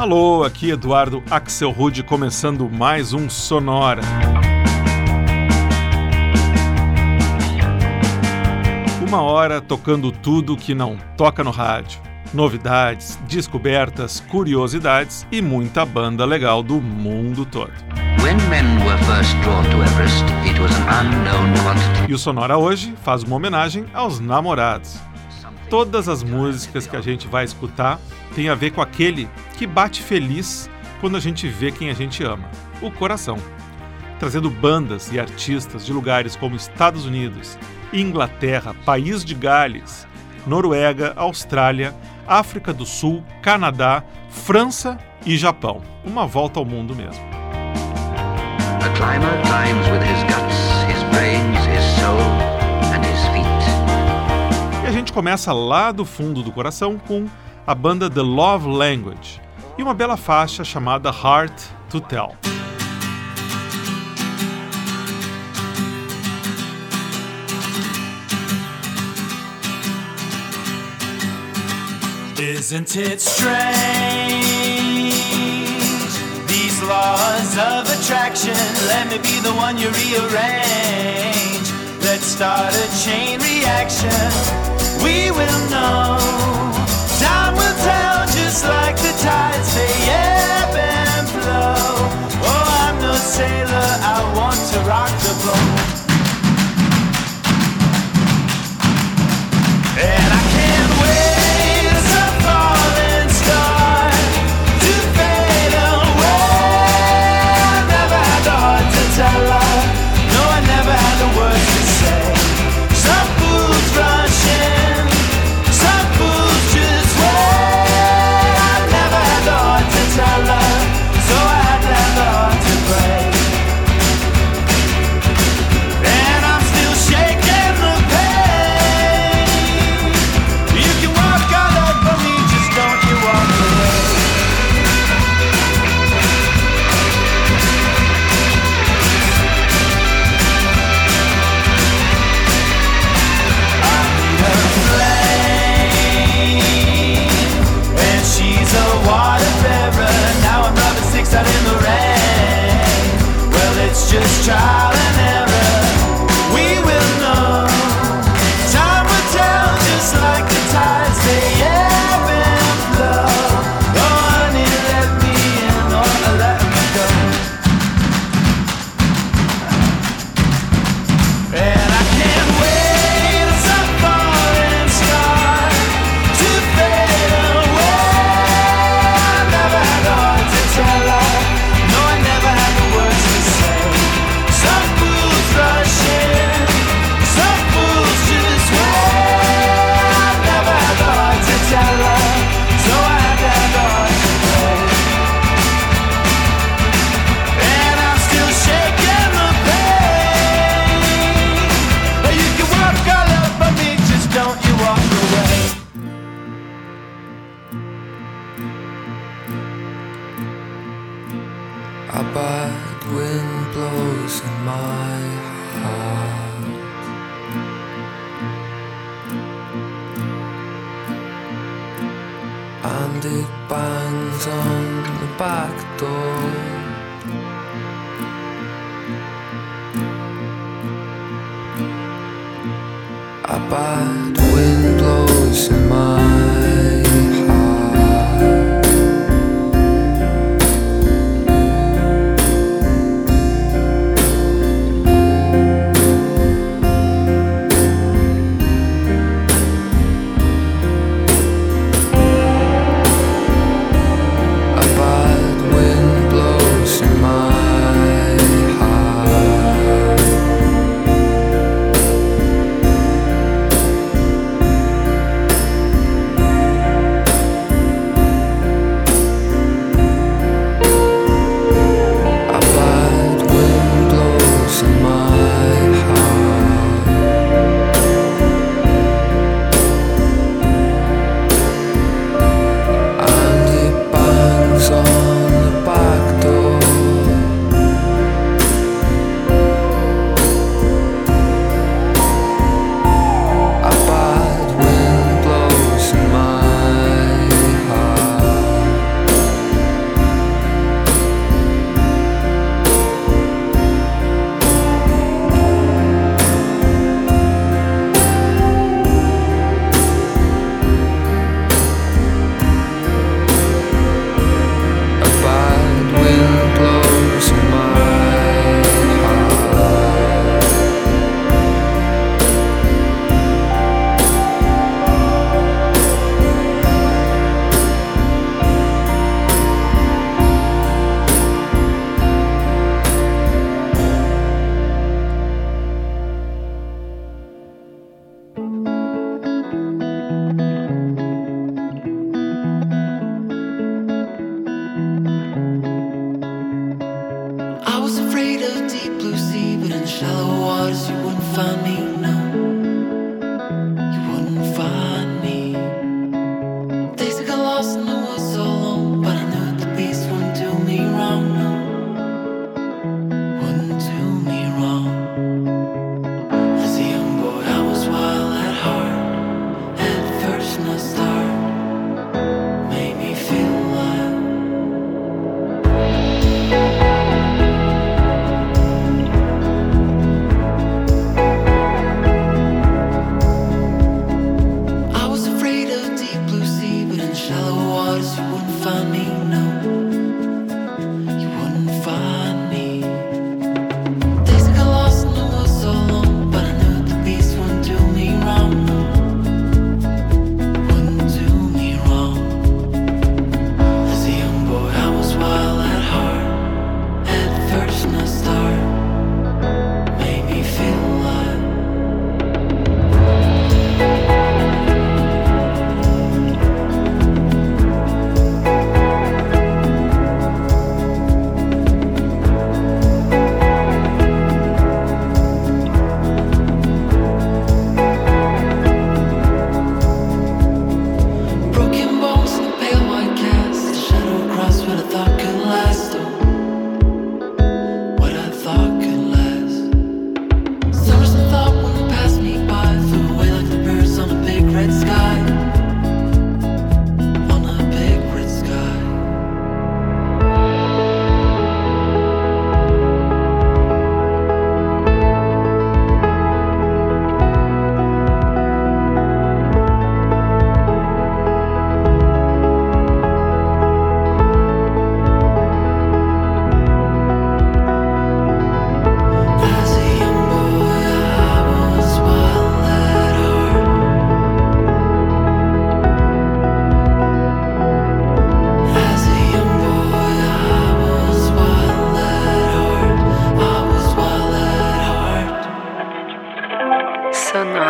Alô, aqui Eduardo Axelrod começando mais um Sonora. Uma hora tocando tudo que não toca no rádio. Novidades, descobertas, curiosidades e muita banda legal do mundo todo. E o Sonora hoje faz uma homenagem aos namorados. Todas as músicas que a gente vai escutar têm a ver com aquele que bate feliz quando a gente vê quem a gente ama, o coração. Trazendo bandas e artistas de lugares como Estados Unidos, Inglaterra, País de Gales, Noruega, Austrália, África do Sul, Canadá, França e Japão. Uma volta ao mundo mesmo. A climber climbs with his guts, his brains, his soul and his feet. E a gente começa lá do fundo do coração com a banda The Love Language e uma bela faixa chamada Heart to Tell. Isn't it strange? These laws of attraction, let me be the one you rearrange. Let's start a chain reaction. We will know. Time will tell, just like the tides, they ebb and flow. Oh, I'm no sailor, I want to rock the boat. And I can't wait as a falling star to fade away. I never had the heart to tell her. No, I never had the words to say. Some fools rush in, some fools just wait. I never had the heart to tell her, so I had to have the heart to break. And I'm still shaking the pain. You can walk all over me, just don't you walk away. I need a flame, and she's a water bearer. Now I'm rubbing sticks out in the rain. Well, it's just trial and error. We will know. Time will tell, just like the tides, they ebb and flow. Oh, honey, let me in or let me go. And I can't wait as a falling star to fade away. I never had the heart to tell her. No, I never had the words to say. Some fools rush in, some fools just wait. I never had the heart to tell her, so I had to have the heart to play. And I'm still shaking the pain. You can walk all over me, just don't you walk away. A bad wind blows in my heart, and it bangs on the back door. A bad wind blows in my heart. A bad wind blows in my heart.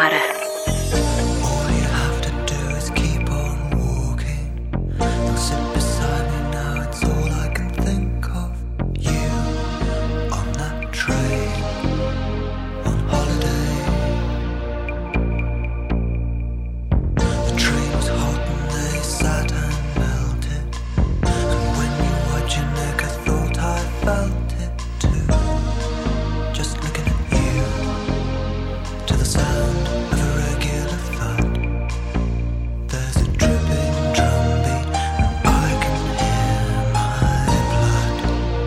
water. All you have to do is keep on walking. You'll sit beside me now, it's all I can think of. You on that train, on holiday. The train was hot and they sat and melted. And when you watch your neck, I thought I felt it too. Just looking at you, to the sound of a regular thud. There's a dripping drum beat, and I can hear my blood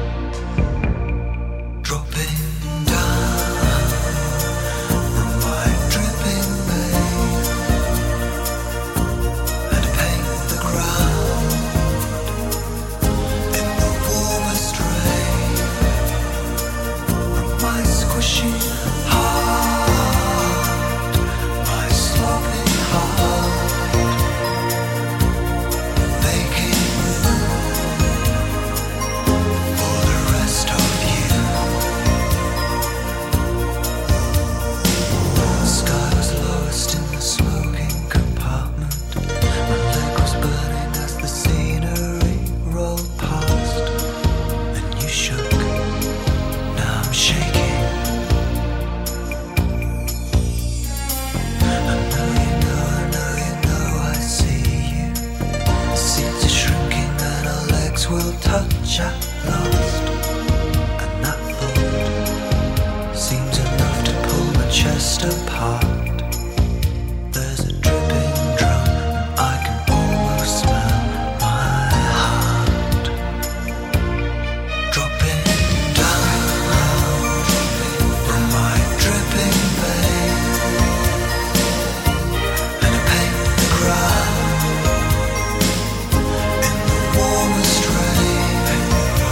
dropping down from my dripping vein, and I paint the ground in the warmest rain from my squishy heart, my sloppy heart, making room for the rest of you. The sky was lowest in the smoking compartment. My leg was burning as the scenery rolled past, and you shook. Now I'm shaking. I know you know I see you. The seats are shrinking and our legs will touch at last. And that thought seems enough to pull my chest apart. There's a dripping drum and I can almost smell my heart dropping down from my dripping vein, and I paint the ground in the warmest rain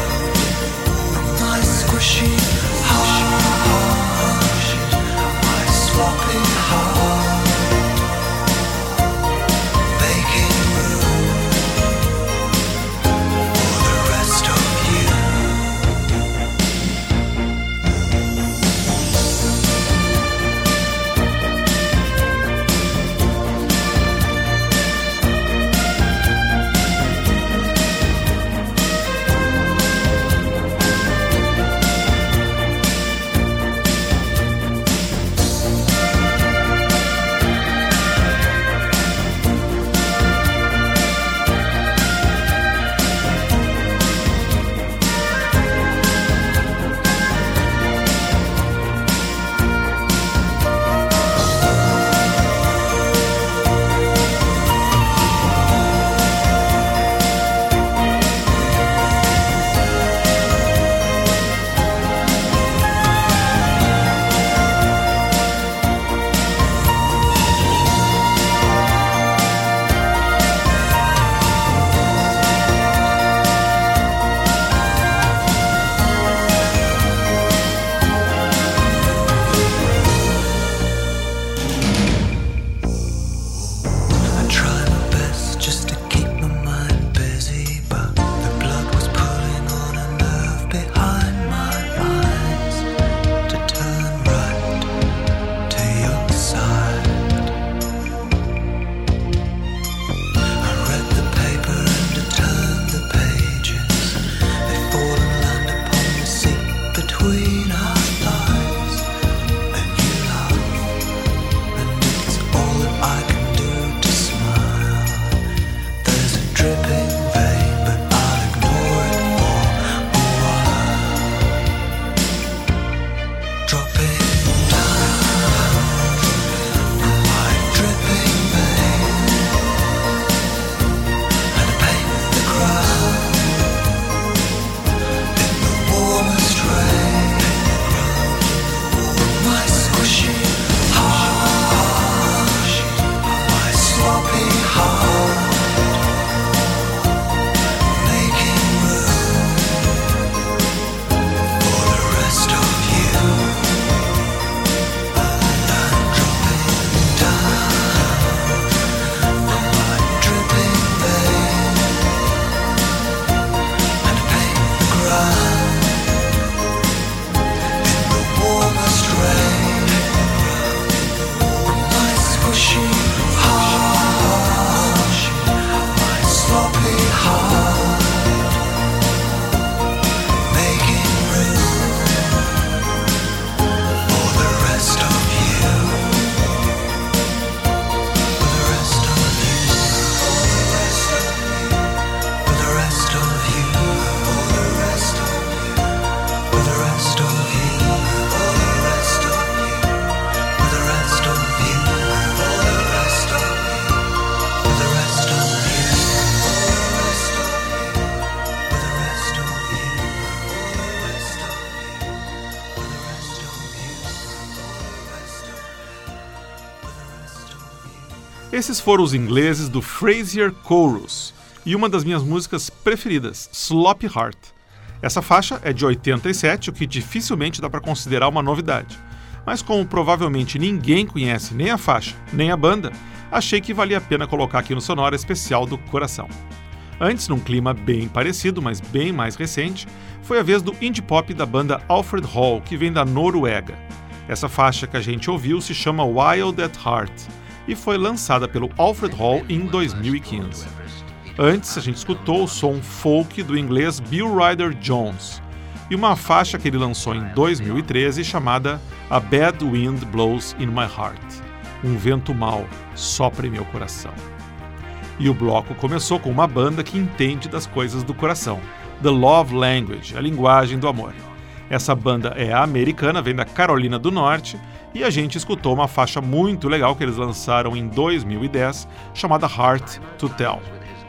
Esses foram os ingleses do Frasier Chorus e uma das minhas músicas preferidas, Sloppy Heart. Essa faixa é de 87, o que dificilmente dá para considerar uma novidade. Mas como provavelmente ninguém conhece nem a faixa, nem a banda, achei que valia a pena colocar aqui no Sonora Especial do Coração. Antes, num clima bem parecido, mas bem mais recente, foi a vez do indie pop da banda Alfred Hall, que vem da Noruega. Essa faixa que a gente ouviu se chama Wild at Heart e foi lançada pelo Alfred Hall em 2015. Antes, a gente escutou o som folk do inglês Bill Ryder Jones e uma faixa que ele lançou em 2013 chamada A Bad Wind Blows in My Heart. Um vento mau sopra em meu coração. E o bloco começou com uma banda que entende das coisas do coração, The Love Language, a linguagem do amor. Essa banda é americana, vem da Carolina do Norte, e a gente escutou uma faixa muito legal que eles lançaram em 2010, chamada Heart to Tell.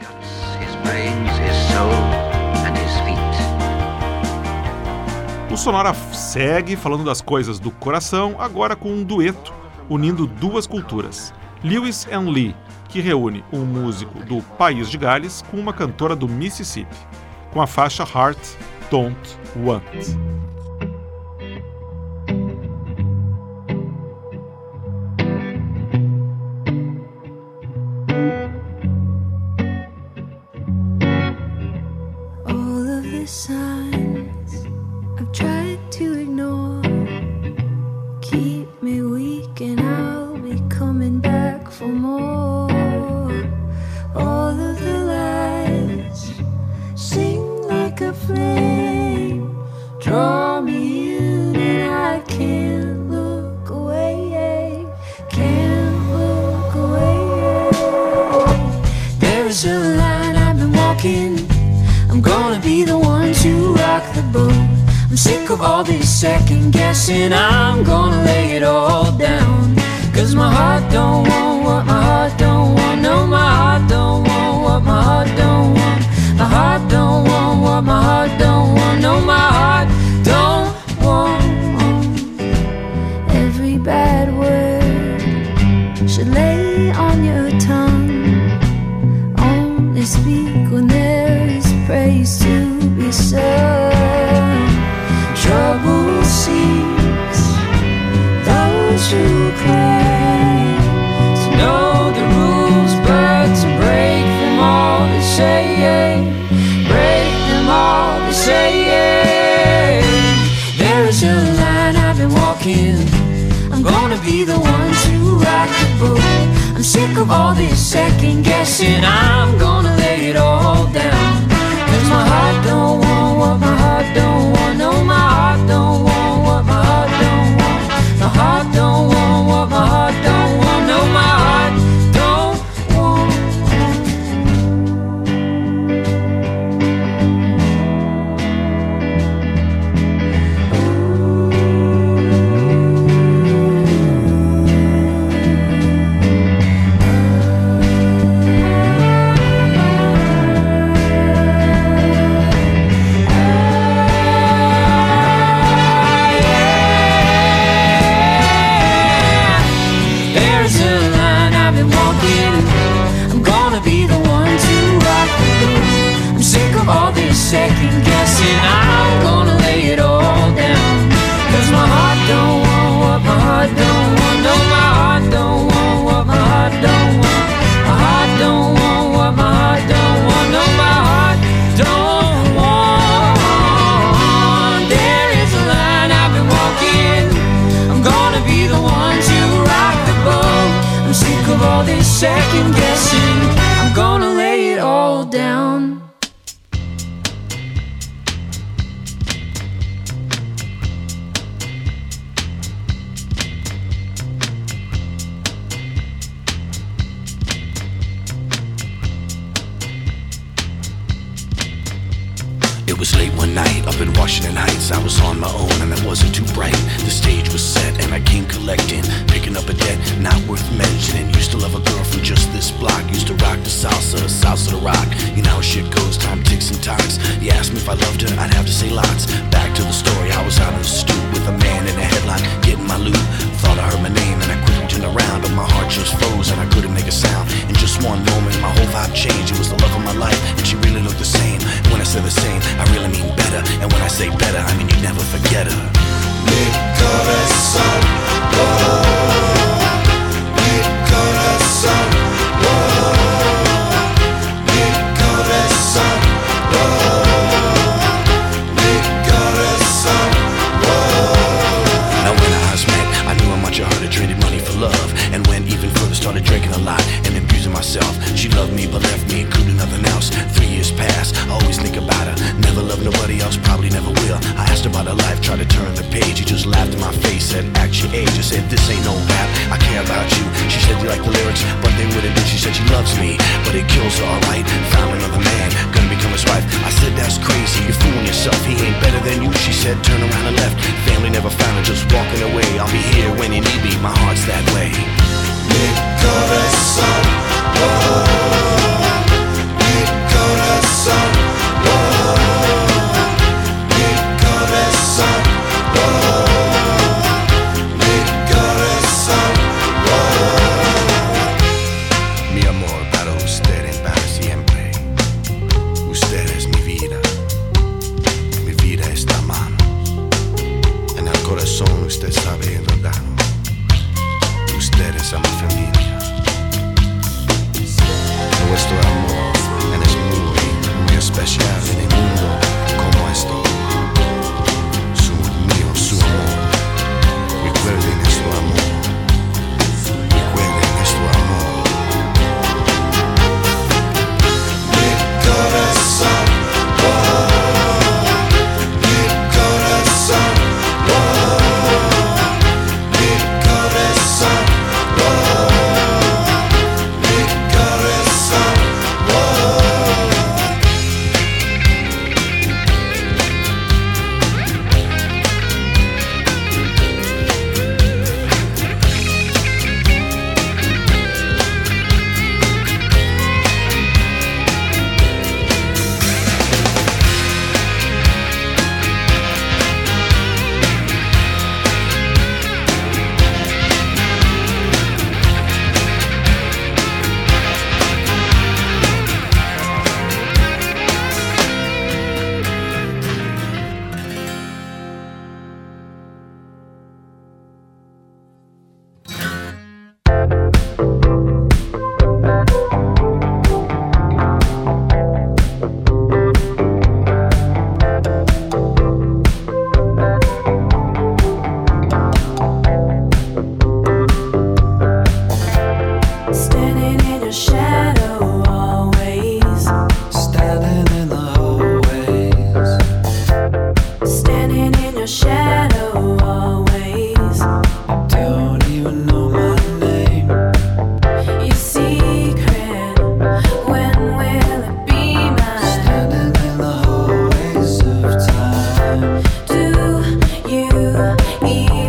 O Sonora segue falando das coisas do coração, agora com um dueto, unindo duas culturas. Lewis and Lee, que reúne um músico do País de Gales com uma cantora do Mississippi, com a faixa Heart Don't Want. All of the signs I've tried to ignore keep me weak and I'll be coming back for more. All of the lies sing like a flame, draw me in and I can't look away, can't look away. There's a line I've been walking, I'm gonna be the one to rock the boat. I'm sick of all this second guessing, I'm gonna lay it all down. Cause my heart don't want what my heart don't want. No, my heart don't want what my heart don't want. My heart don't want what my heart don't want. No, my heart don't want. Every bad word should lay on your tongue. Only speak when there is praise to be sung. Trouble seeks those who claim to know the rules, but to break them all they say, break them all they say. There's a line I've been walking, I'm gonna be the one to rock the boat. I'm sick of all this second guessing, I'm gonna lay it all down. Cause my heart don't want what my heart don't want. No, my heart don't want what my heart don't want. My heart don't want what my heart don't want. No, my heart don't want. All this second guessing, I'm gonna lay it all down. Cause my heart don't want what my heart don't want. No, my heart don't want what my heart don't want. My heart don't want what my heart don't want. No, my heart don't want. There is a line I've been walking, I'm gonna be the one to rock the boat. I'm sick of all this second guessing, I'm gonna lay it all down. It It was late one night up in Washington Heights. I was on my own and I wasn't too bright. The stage was set and I came collecting, picking up a debt not worth mentioning. Used to love a girl from just this block. Used to rock the salsa to rock. You know how shit goes, time ticks and talks. You asked me if I loved her, I'd have to say lots. Back to the story, I was out in the stoop with a man in a headline, getting my loot. Thought I heard my name and I quickly turned around, but my heart just froze and I couldn't make a sound. In just one moment, my whole vibe changed. It was the love of my life, and she really looked the same. When I say the same, I really mean better. And when I say better, I mean you never forget her. Mi corazón, mi corazón, mi corazón, mi corazón. Now when our eyes met, I knew how much I heard. I traded money for love, and went even further. Started drinking a lot and abusing myself. She loved me but left me, including nothing else. 3 years passed, I always think about her. Never loved nobody else, probably never will. I asked her about her life, tried to turn the page. She just laughed in my face, said, act your age. I said, this ain't no rap, I care about you. She said, you like the lyrics, but they wouldn't do. She said she loves me, but it kills her, alright. Found another man, gonna become his wife. I said, that's crazy, you're fooling yourself. He ain't better than you. She said, turn around and left. Family never found her, just walking away. I'll be here when you need me, my heart's that way. Mi corazón, mi corazón, mi corazón, mi corazón. Mi amor para usted es para siempre. Usted es mi vida está a mano. En el corazón usted sabe enredarnos. Ustedes a mi familia. Nuestro amor es muy especial en el mundo como esto. Su mío, su amor. Recuerden nuestro amor. Recuerden nuestro amor. Mi corazón, mi corazón, mi corazón.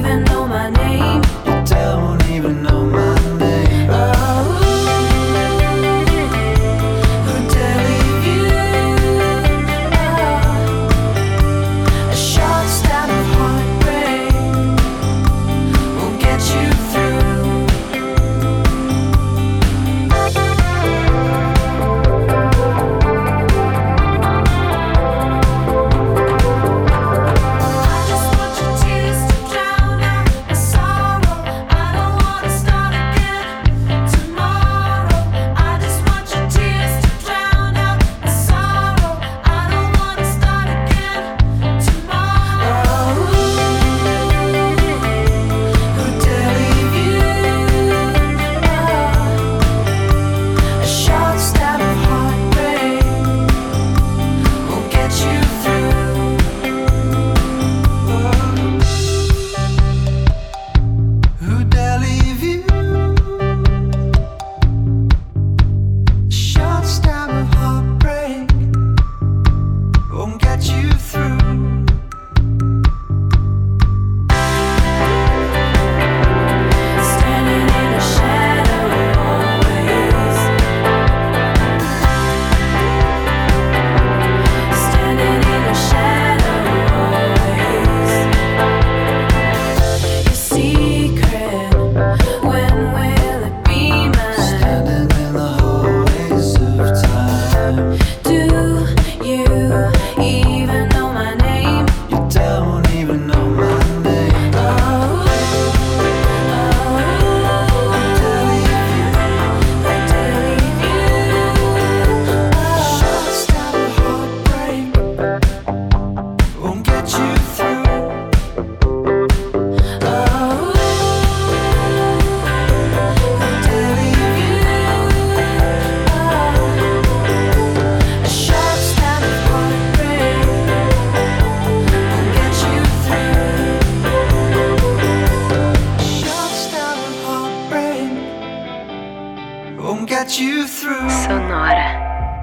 Even know my name. Oh. won't get you through. Sonora.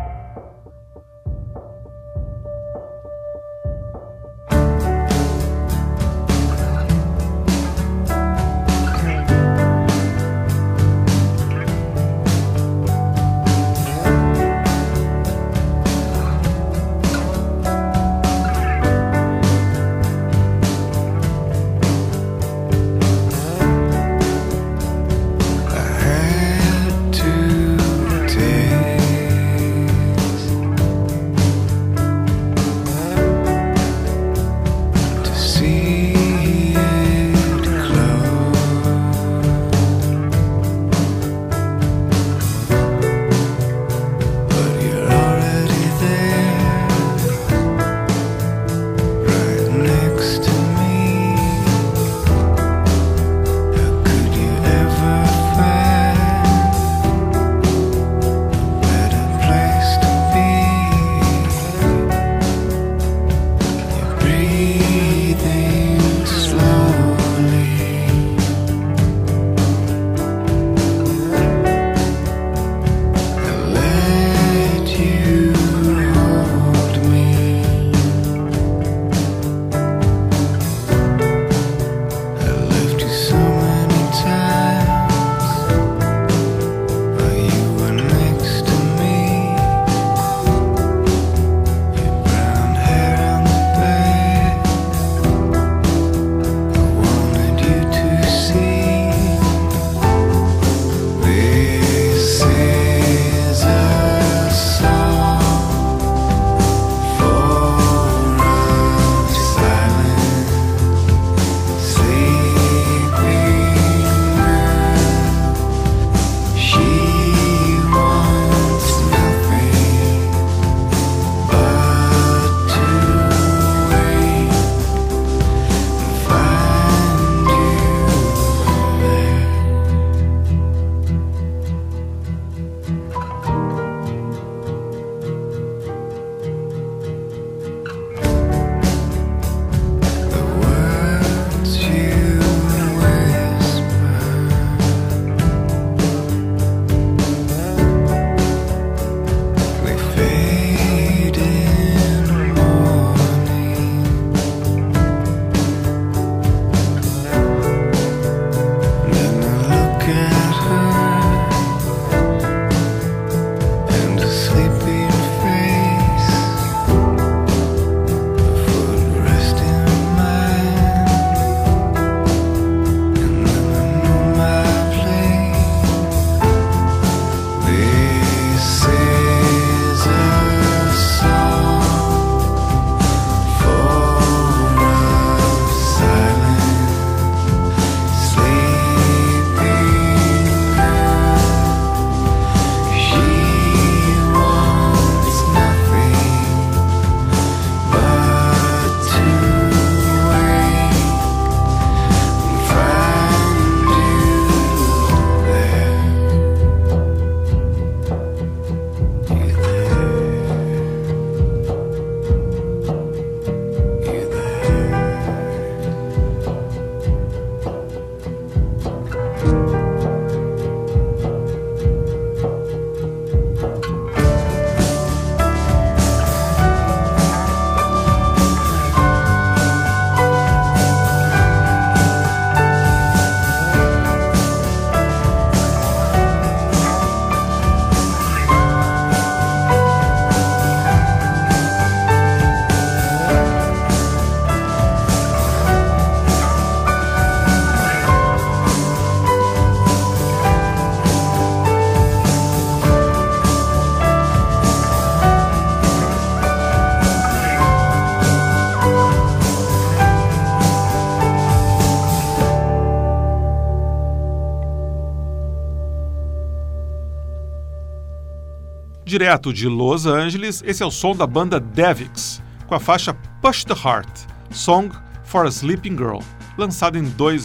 Direto de Los Angeles, esse é o som da banda Davix, com a faixa Push the Heart, Song for a Sleeping Girl, lançado em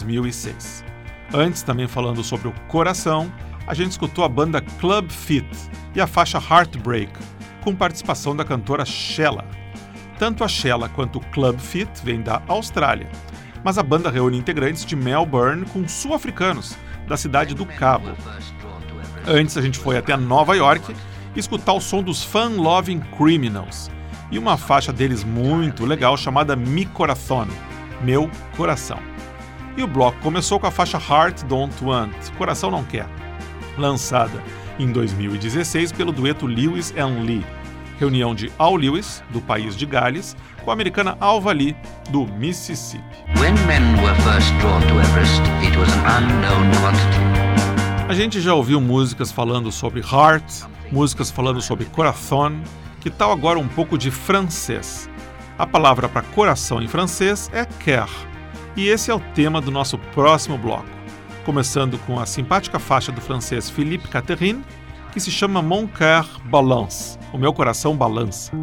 2006. Antes, também falando sobre o coração, a gente escutou a banda Club Fit e a faixa Heartbreak, com participação da cantora Shella. Tanto a Shella quanto o Club Fit vêm da Austrália, mas a banda reúne integrantes de Melbourne com sul-africanos, da cidade do Cabo. Antes a gente foi até Nova York escutar o som dos Fun Loving Criminals e uma faixa deles muito legal chamada Mi Corazón, Meu Coração. E o bloco começou com a faixa Heart Don't Want, Coração Não Quer, lançada em 2016 pelo dueto Lewis and Lee, reunião de Al Lewis, do país de Gales, com a americana Alva Lee, do Mississippi. When men were first drawn to Everest, it was an unknown quantity. A gente já ouviu músicas falando sobre heart, músicas falando sobre coração. Que tal agora um pouco de francês? A palavra para coração em francês é cœur, e esse é o tema do nosso próximo bloco, começando com a simpática faixa do francês Philippe Catherine, que se chama Mon cœur balance, o meu coração balança.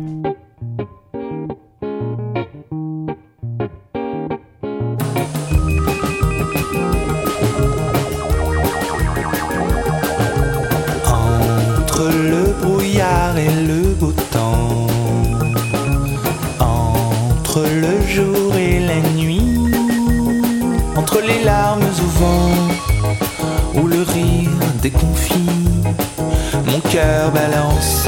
Entre le brouillard et le beau temps, entre le jour et la nuit, entre les larmes au vent ou le rire déconfit, mon cœur balance.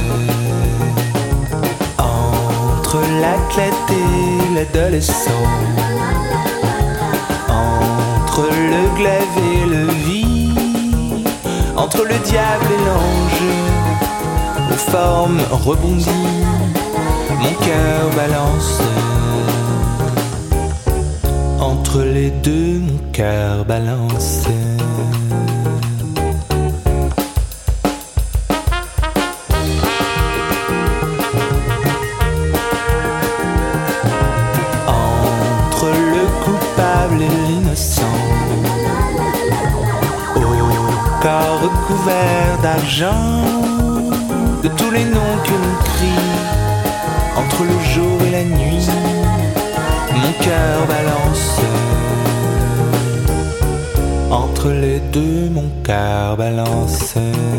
Entre l'athlète et l'adolescent, entre le glaive et le vide, entre le diable et l'ange, aux formes rebondies, mon cœur balance. Entre les deux, mon cœur balance. Entre le coupable et l'innocent, au corps recouvert d'argent, de tous les noms que l'on crie, entre le jour et la nuit, mon cœur balance. Entre les deux, mon cœur balance.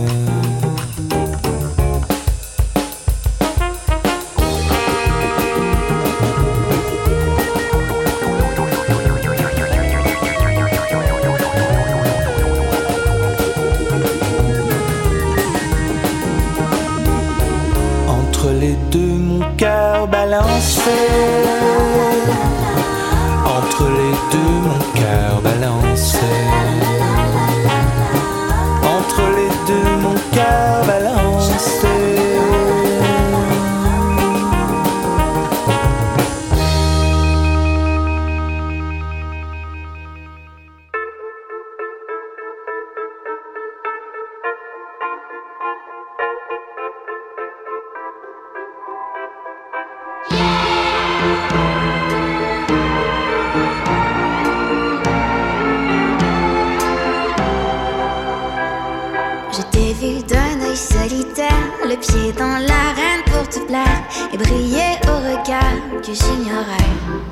Entre les deux, mon cœur balance. Entre les deux, mon cœur balance. Entre les deux, mon cœur balance. Je t'ai vu d'un œil solitaire, le pied dans l'arène pour te plaire et briller au regard que j'ignorais.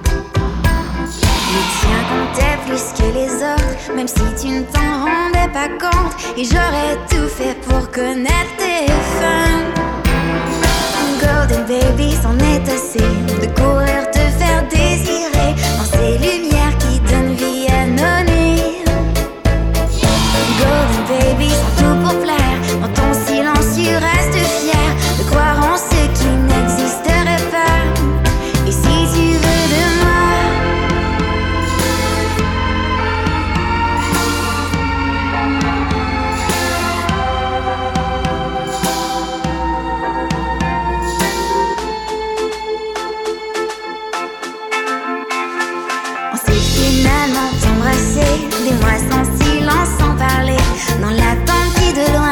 Le tien comptait plus que les autres, même si tu ne t'en rendais pas compte, et j'aurais tout fait pour connaître tes fins. Golden baby, c'en est assez de courir te faire désirer dans ces lumières qui donnent vie à nos nuits. Golden baby, c'est tout pour plaire. Dans ton silence, tu restes fier de croire en ce qui n'existerait pas. Et si tu veux de moi, on s'est finalement embrassé, des mois sans silence, sans parler, dans l'attente qui de loin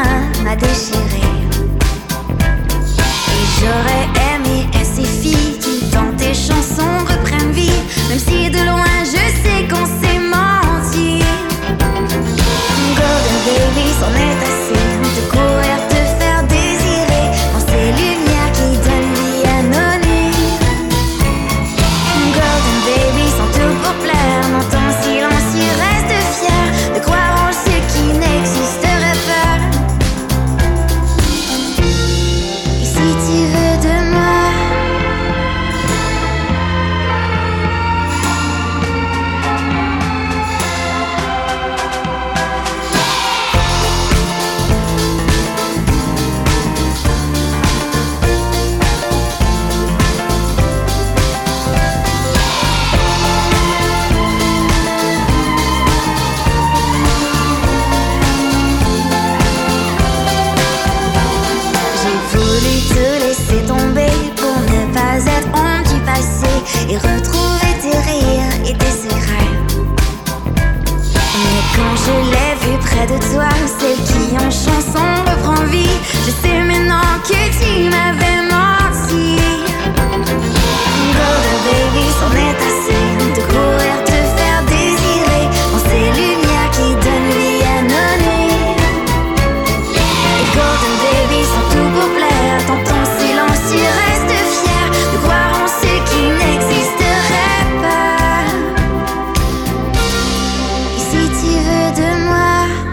et retrouver tes rires et tes secrets. Mais quand je l'ai vu près de toi, celle qui en chanson reprend vie, je sais maintenant que tu m'avais menti. Golden baby, c'en est assez de courir, te faire désirer en ces lumières qui donnent vie à nos nuits. Et Golden baby, sans tout pour plaire, dans ton silence tu restes fier de croire en ce qui n'existerait pas. Et si tu veux de moi,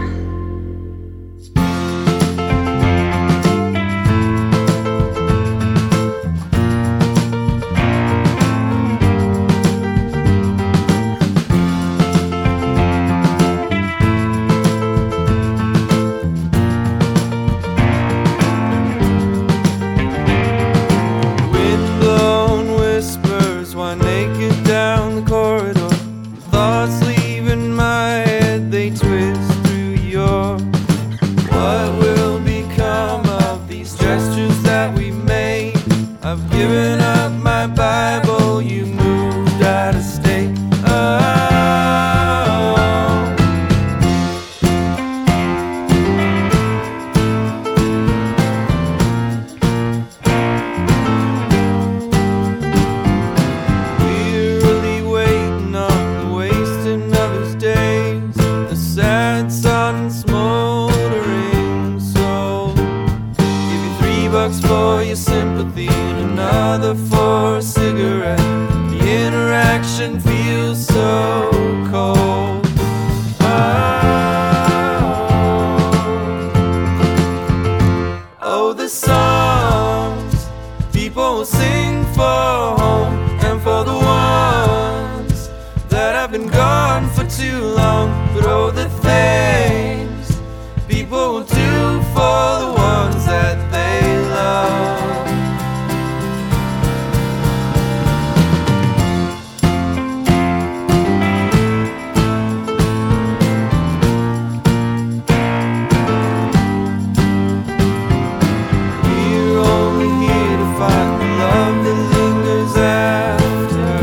for your sympathy and another for a cigarette. The interaction feels so cold. Oh, the songs people sing for home and for the ones that have been gone for too long. But oh, the things people do for the ones that they love. We're only here to find the love that lingers after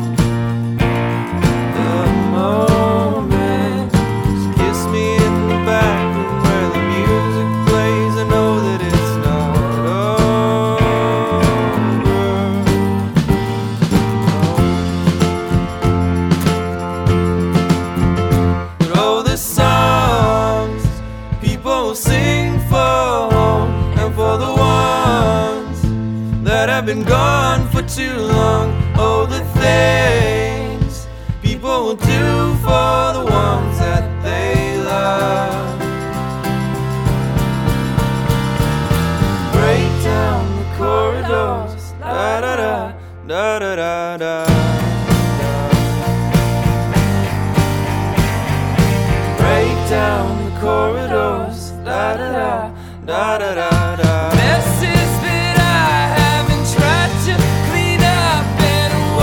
the moment. Just kiss me in the back room where the music plays. I know that it's not over. But oh, the songs people sing for home and for the ones that have been gone for too long. Oh, the things people will do for the ones that they love. Break down the corridors, da da da, da da da da. Break down the corridors, da da da, da da da da. Messes that I haven't tried to clean up in a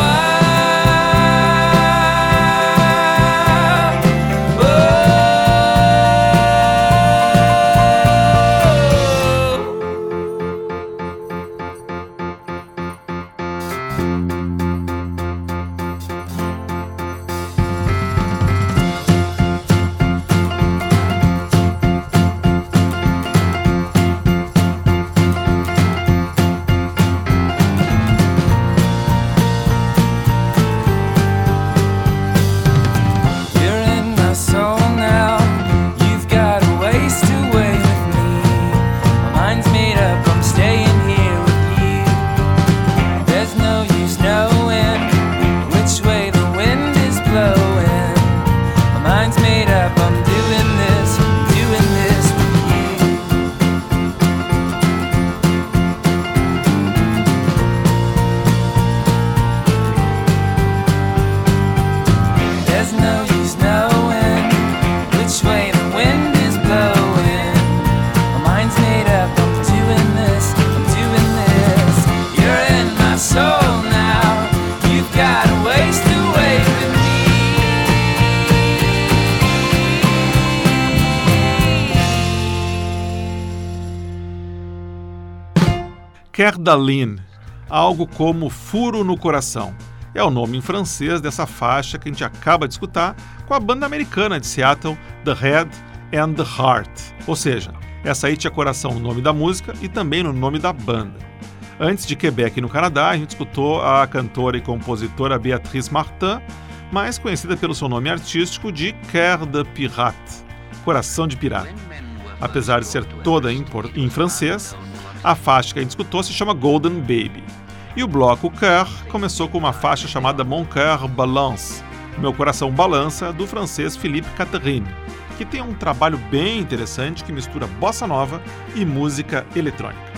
Kerdalin, algo como furo no coração. é o nome em francês dessa faixa que a gente acaba de escutar com a banda americana de Seattle, The Head and the Heart. Ou seja, essa aí tinha coração no nome da música e também no nome da banda. Antes de Quebec, no Canadá, a gente escutou a cantora e compositora Béatrice Martin, mais conhecida pelo seu nome artístico de Cœur de Pirate, Coração de Pirata. Apesar de ser toda em francês, a faixa que a gente escutou se chama Golden Baby. E o bloco Cœur começou com uma faixa chamada Mon Cœur Balance, Meu Coração Balança, do francês Philippe Catherine, que tem um trabalho bem interessante que mistura bossa nova e música eletrônica.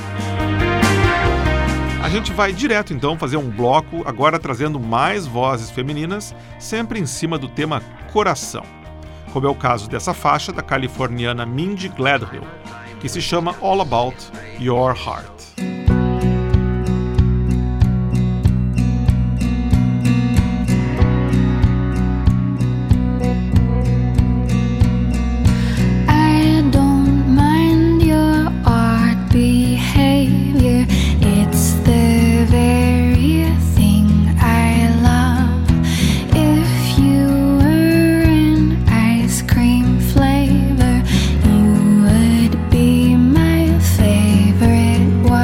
A gente vai direto então fazer um bloco, agora trazendo mais vozes femininas, sempre em cima do tema coração, como é o caso dessa faixa da californiana Mindy Gladhill, que se chama All About Your Heart. Favorite one.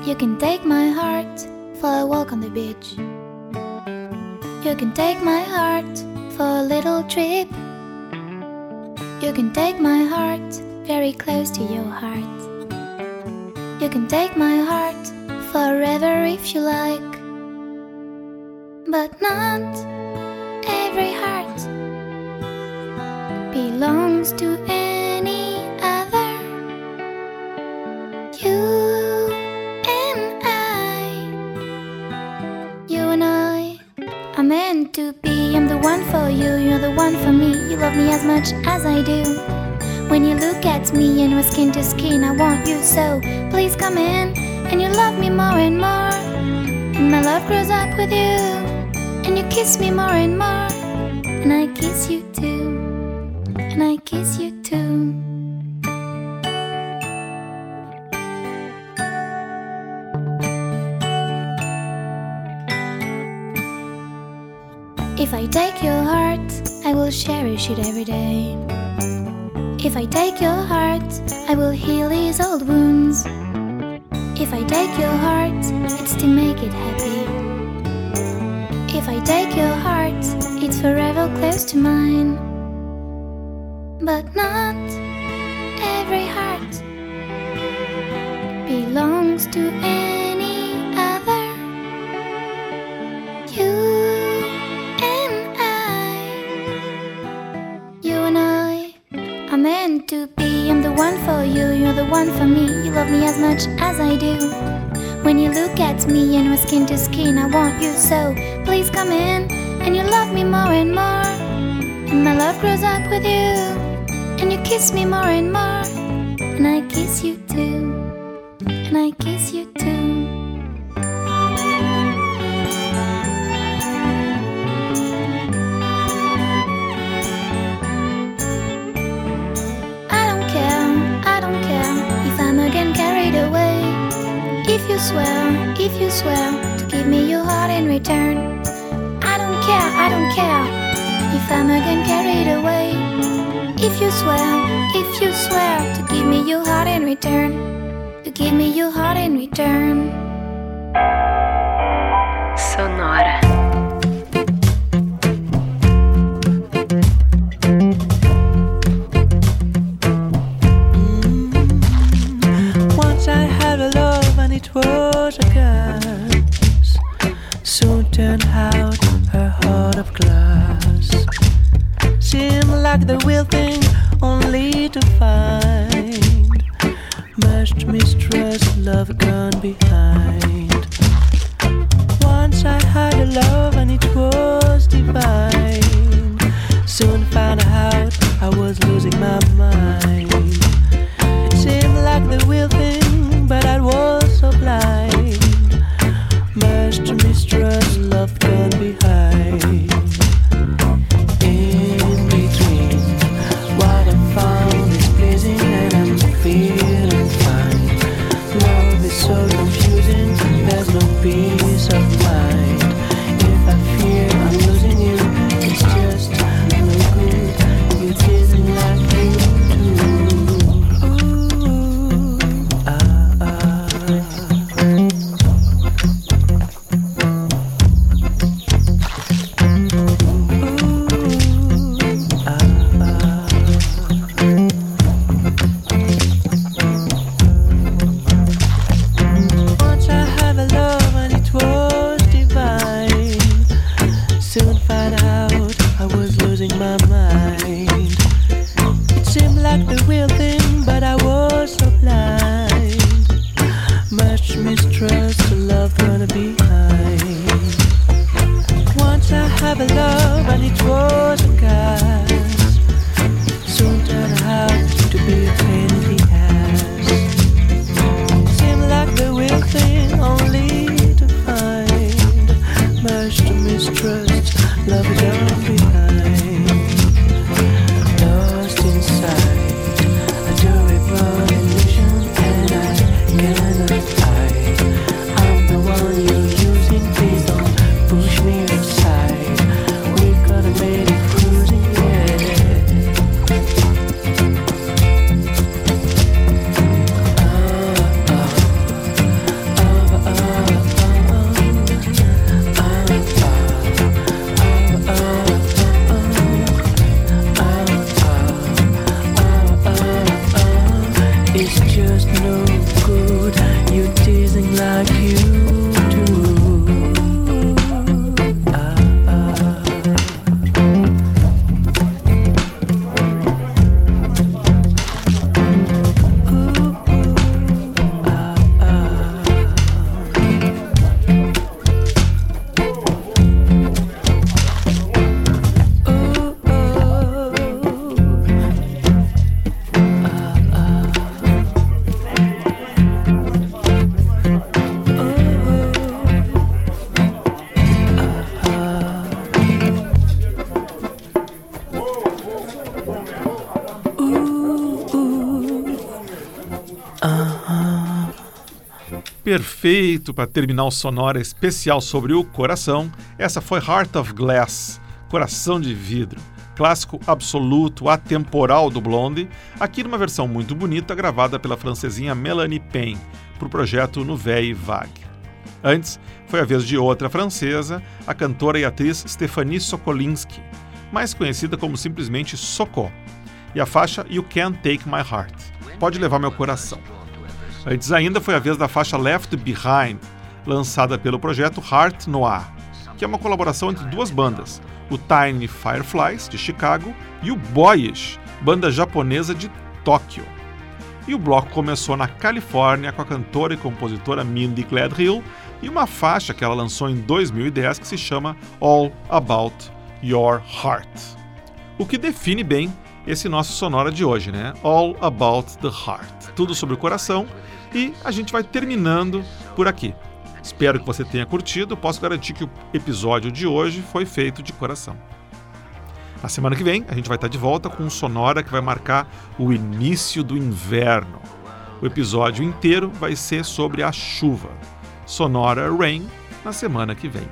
You can take my heart for a walk on the beach. You can take my heart for a little trip. You can take my heart very close to your heart. You can take my heart forever if you like. But not every heart belongs to any other. You and I are meant to be. I'm the one for you, you're the one for me. You love me as much as I do. When you look at me and we're skin to skin, I want you so. Please come in and you love me more and more. And my love grows up with you. And you kiss me more and more. And I kiss you too. And I kiss you too. If I take your heart, I will cherish it every day. If I take your heart, I will heal these old wounds. If I take your heart, it's to make it happy. If I take your heart, it's forever close to mine. But not every heart belongs to any other. You and I are meant to be. I'm the one for you, you're the one for me. You love me as much as I do. When you look at me and we're skin to skin, I want you so. Please come in and you love me more and more. And my love grows up with you. And you kiss me more and more. And I kiss you too. And I kiss you too. If you swear to give me your heart in return, I don't care if I'm again carried away. If you swear to give me your heart in return, to give me your heart in return. Sonora. It was a curse, soon turned out her heart of glass. Seemed like the real thing, only to find much mistrust, love gone behind. Once I had a love and it was divine. Soon found out I was losing my mind. It seemed like the real thing, but I was so blind. Much to mistrust, love gone behind. In between, what I found is pleasing and I'm feeling fine. Love is so confusing, there's no peace of mind. If I fear I'm losing you, it's just no good. You didn't like you too. Perfeito para terminar o Sonora especial sobre o coração. Essa foi Heart of Glass, Coração de Vidro, clássico absoluto, atemporal do Blondie, aqui numa versão muito bonita gravada pela francesinha Melanie Payne, para o projeto Nouvelle Vague. Antes, foi a vez de outra francesa, a cantora e atriz Stéphanie Sokolinski, mais conhecida como simplesmente Soko, e a faixa You Can't Take My Heart, Pode Levar Meu Coração. Antes ainda foi a vez da faixa Left Behind, lançada pelo projeto Heart Noir, que é uma colaboração entre duas bandas, o Tiny Fireflies, de Chicago, e o Boyish, banda japonesa de Tóquio. E o bloco começou na Califórnia com a cantora e compositora Mindy Gladhill e uma faixa que ela lançou em 2010 que se chama All About Your Heart. O que define bem esse nosso Sonora de hoje, né? All About the Heart. Tudo sobre o coração, e a gente vai terminando por aqui. Espero que você tenha curtido. Posso garantir que o episódio de hoje foi feito de coração. Na semana que vem, a gente vai estar de volta com um Sonora que vai marcar o início do inverno. O episódio inteiro vai ser sobre a chuva. Sonora Rain, na semana que vem.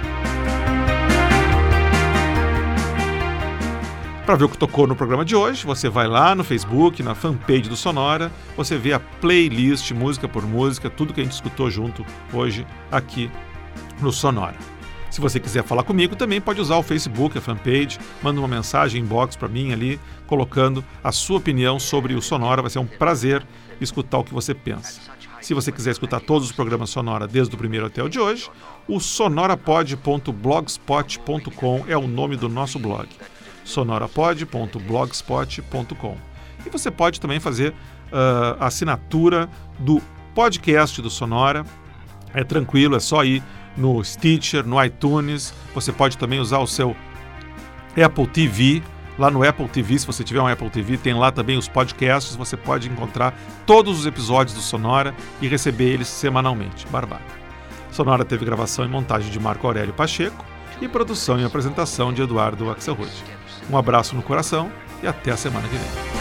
Para ver o que tocou no programa de hoje, você vai lá no Facebook, na fanpage do Sonora, você vê a playlist, música por música, tudo que a gente escutou junto hoje aqui no Sonora. Se você quiser falar comigo, também pode usar o Facebook, a fanpage, manda uma mensagem, inbox para mim ali, colocando a sua opinião sobre o Sonora. Vai ser um prazer escutar o que você pensa. Se você quiser escutar todos os programas Sonora, desde o primeiro até o de hoje, o sonorapod.blogspot.com é o nome do nosso blog. sonorapod.blogspot.com. E você pode também fazer a assinatura do podcast do Sonora. É tranquilo, é só ir no Stitcher, no iTunes. Você pode também usar o seu Apple TV. Lá no Apple TV, se você tiver um Apple TV, tem lá também os podcasts. Você pode encontrar todos os episódios do Sonora e receber eles semanalmente. Barbada. Sonora teve gravação e montagem de Marco Aurélio Pacheco e produção e apresentação de Eduardo Axelrod. Um abraço no coração e até a semana que vem.